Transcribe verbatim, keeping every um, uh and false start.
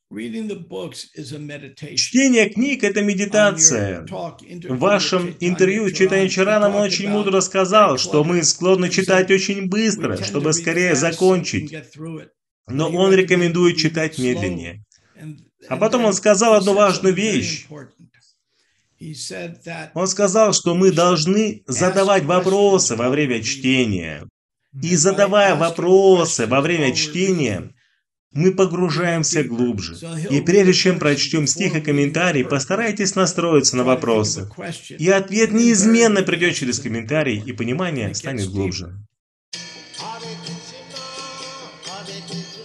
Чтение книг – это медитация. В вашем интервью Чайтанья Чаранам он очень мудро сказал, что мы склонны читать очень быстро, чтобы скорее закончить. Но он рекомендует читать медленнее. А потом он сказал одну важную вещь. Он сказал, что мы должны задавать вопросы во время чтения. И задавая вопросы во время чтения, мы погружаемся глубже. И прежде чем прочтем стих и комментарий, постарайтесь настроиться на вопросы. И ответ неизменно придет через комментарий, и понимание станет глубже.